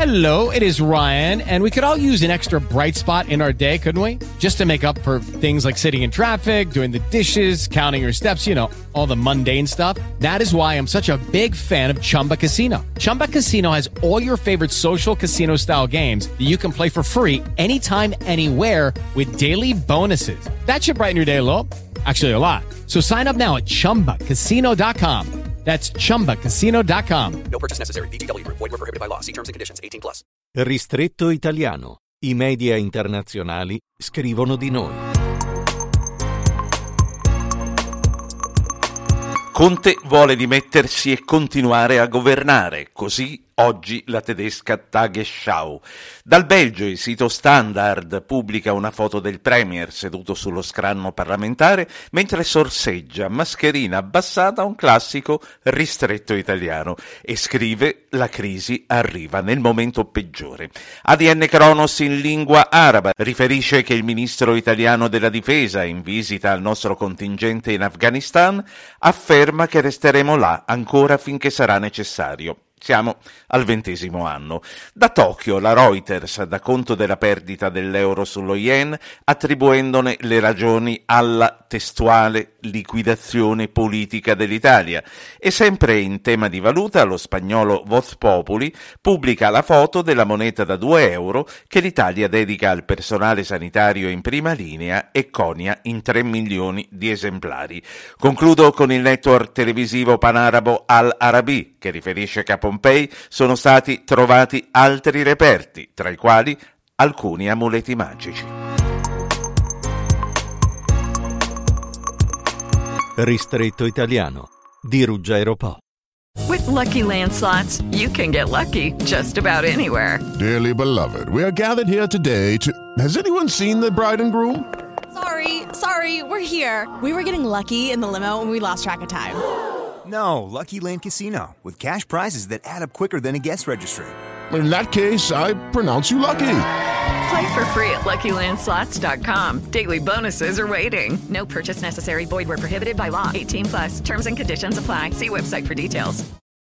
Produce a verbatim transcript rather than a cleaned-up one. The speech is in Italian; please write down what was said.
Hello, it is Ryan, and we could all use an extra bright spot in our day, couldn't we? Just to make up for things like sitting in traffic, doing the dishes, counting your steps, you know, all the mundane stuff. That is why I'm such a big fan of Chumba Casino. Chumba Casino has all your favorite social casino-style games that you can play for free anytime, anywhere with daily bonuses. That should brighten your day a little. Actually, a lot. So sign up now at chumba casino dot com. That's chumba casino dot com. No purchase necessary. V G W Group. Void where prohibited by law. See terms and conditions. eighteen plus. Ristretto italiano. I media internazionali scrivono di noi. Conte vuole dimettersi e continuare a governare, così oggi la tedesca Tagesschau. Dal Belgio il sito Standard pubblica una foto del premier seduto sullo scranno parlamentare mentre sorseggia, mascherina abbassata, un classico ristretto italiano e scrive: la crisi arriva nel momento peggiore. A D N Kronos in lingua araba riferisce che il ministro italiano della difesa, in visita al nostro contingente in Afghanistan, afferma che resteremo là ancora finché sarà necessario. Siamo al ventesimo anno. Da Tokyo la Reuters dà conto della perdita dell'euro sullo yen, attribuendone le ragioni alla testuale liquidazione politica dell'Italia. E sempre in tema di valuta, lo spagnolo Voz Populi pubblica la foto della moneta da due euro che l'Italia dedica al personale sanitario in prima linea e conia in tre milioni di esemplari. Concludo con il network televisivo panarabo Al Arabi, che riferisce che a Pompei sono stati trovati altri reperti, tra i quali alcuni amuleti magici. Ristretto italiano di Ruggero Po. With Lucky Land Slots, you can get lucky just about anywhere. Dearly beloved, we are gathered here today to... Has anyone seen the bride and groom? Sorry, sorry, we're here. We were getting lucky in the limo and we lost track of time. No, Lucky Land Casino, with cash prizes that add up quicker than a guest registry. In that case, I pronounce you lucky. Play for free at lucky land slots dot com. Daily bonuses are waiting. No purchase necessary. Void where prohibited by law. eighteen plus. Terms and conditions apply. See website for details.